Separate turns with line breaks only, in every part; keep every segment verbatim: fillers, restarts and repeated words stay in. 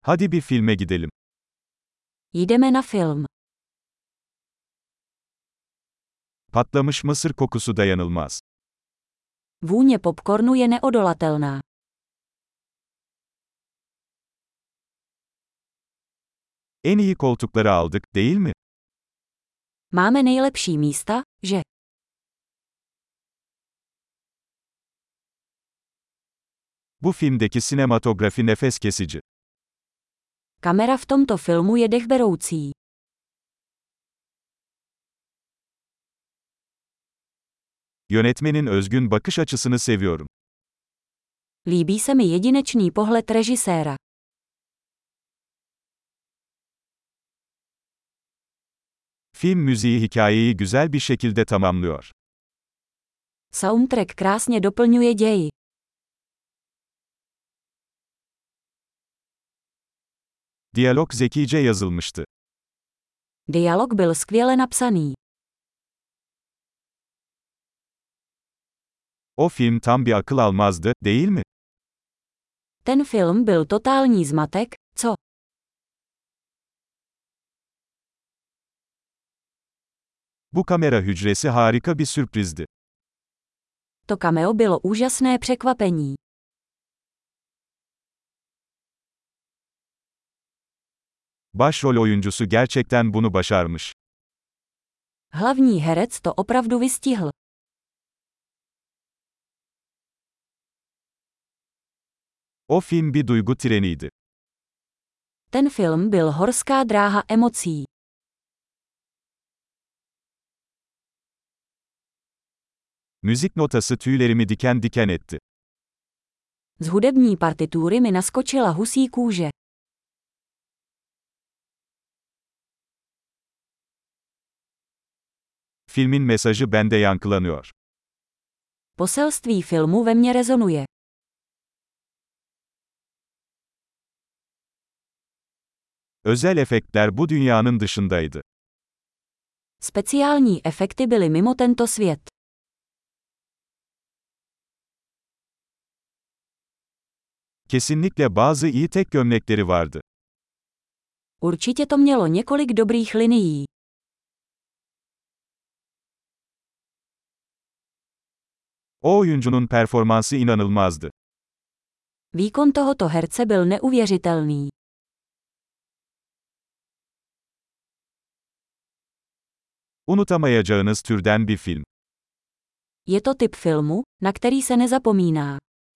Hadi bir filme gidelim.
Jdeme na film.
Patlamış mısır kokusu dayanılmaz.
Vůně popcornu je neodolatelná.
En iyi koltukları aldık, değil mi?
Máme nejlepší místa, že?
Bu filmdeki sinematografi nefes kesici.
Kamera v tomto filmu je dechberoucí.
Yönetmenin özgün bakış açısını seviyorum.
Líbí se mi jedinečný pohled režiséra.
Film müziği hikayeyi güzel bir şekilde tamamlıyor.
Soundtrack krásně doplňuje ději.
Diyalog zekice yazılmıştı.
Dialog byl skvěle napsaný.
O film tam bir akıl almazdı, değil mi?
Ten film byl totální zmatek, co?
Bu kamera hücresi harika bir sürprizdi.
To cameo bylo úžasné překvapení.
Başrol oyuncusu gerçekten bunu başarmış.
Hlavní herec to opravdu vystihl.
O film bir duygu treniydi.
Ten film byl horská dráha emocí.
Müzik notası tüylerimi diken diken etti.
Z hudební partitury mi naskočila husí kůže.
Filmin mesajı bende yankılanıyor.
Poselství filmu ve mně rezonuje.
Özel efektler bu dünyanın dışındaydı.
Speciální efekty byly mimo tento svět.
Kesinlikle bazı iyi tek gömlekleri vardı.
Určitě to mělo několik dobrých linií.
O oyuncunun performansı inanılmazdı.
Výkon tohoto herce byl neuvěřitelný.
Unutamayacağınız türden bir film.
Je to typ filmu, na který se nezapomíná.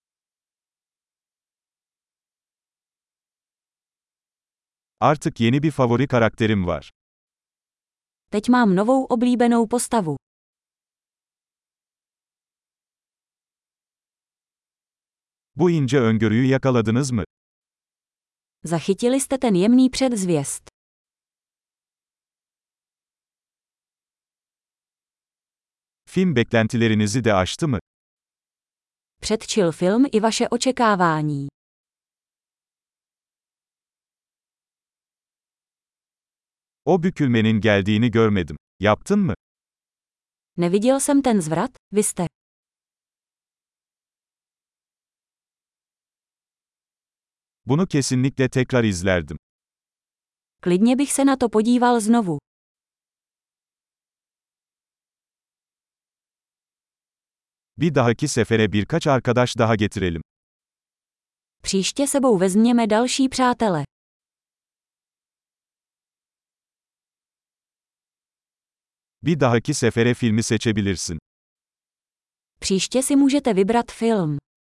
Artık yeni bir favori karakterim var.
Teď mám novou oblíbenou postavu.
Bu ince öngörüyü yakaladınız mı?
Zachytili jste ten jemný předzvěst.
Film beklentilerinizi de aştı mı?
Předčil film i vaše očekávání.
O bükülmenin geldiğini görmedim. Yaptın mı?
Neviděl jsem ten zvrat, vy jste.
Bunu kesinlikle tekrar izlerdim.
Klidně bych se na to podíval znovu.
Bir dahaki sefere birkaç arkadaş daha getirelim.
Příště sebou vezměme další přátele.
Bir dahaki sefere filmi seçebilirsin.
Příště si můžete vybrat film.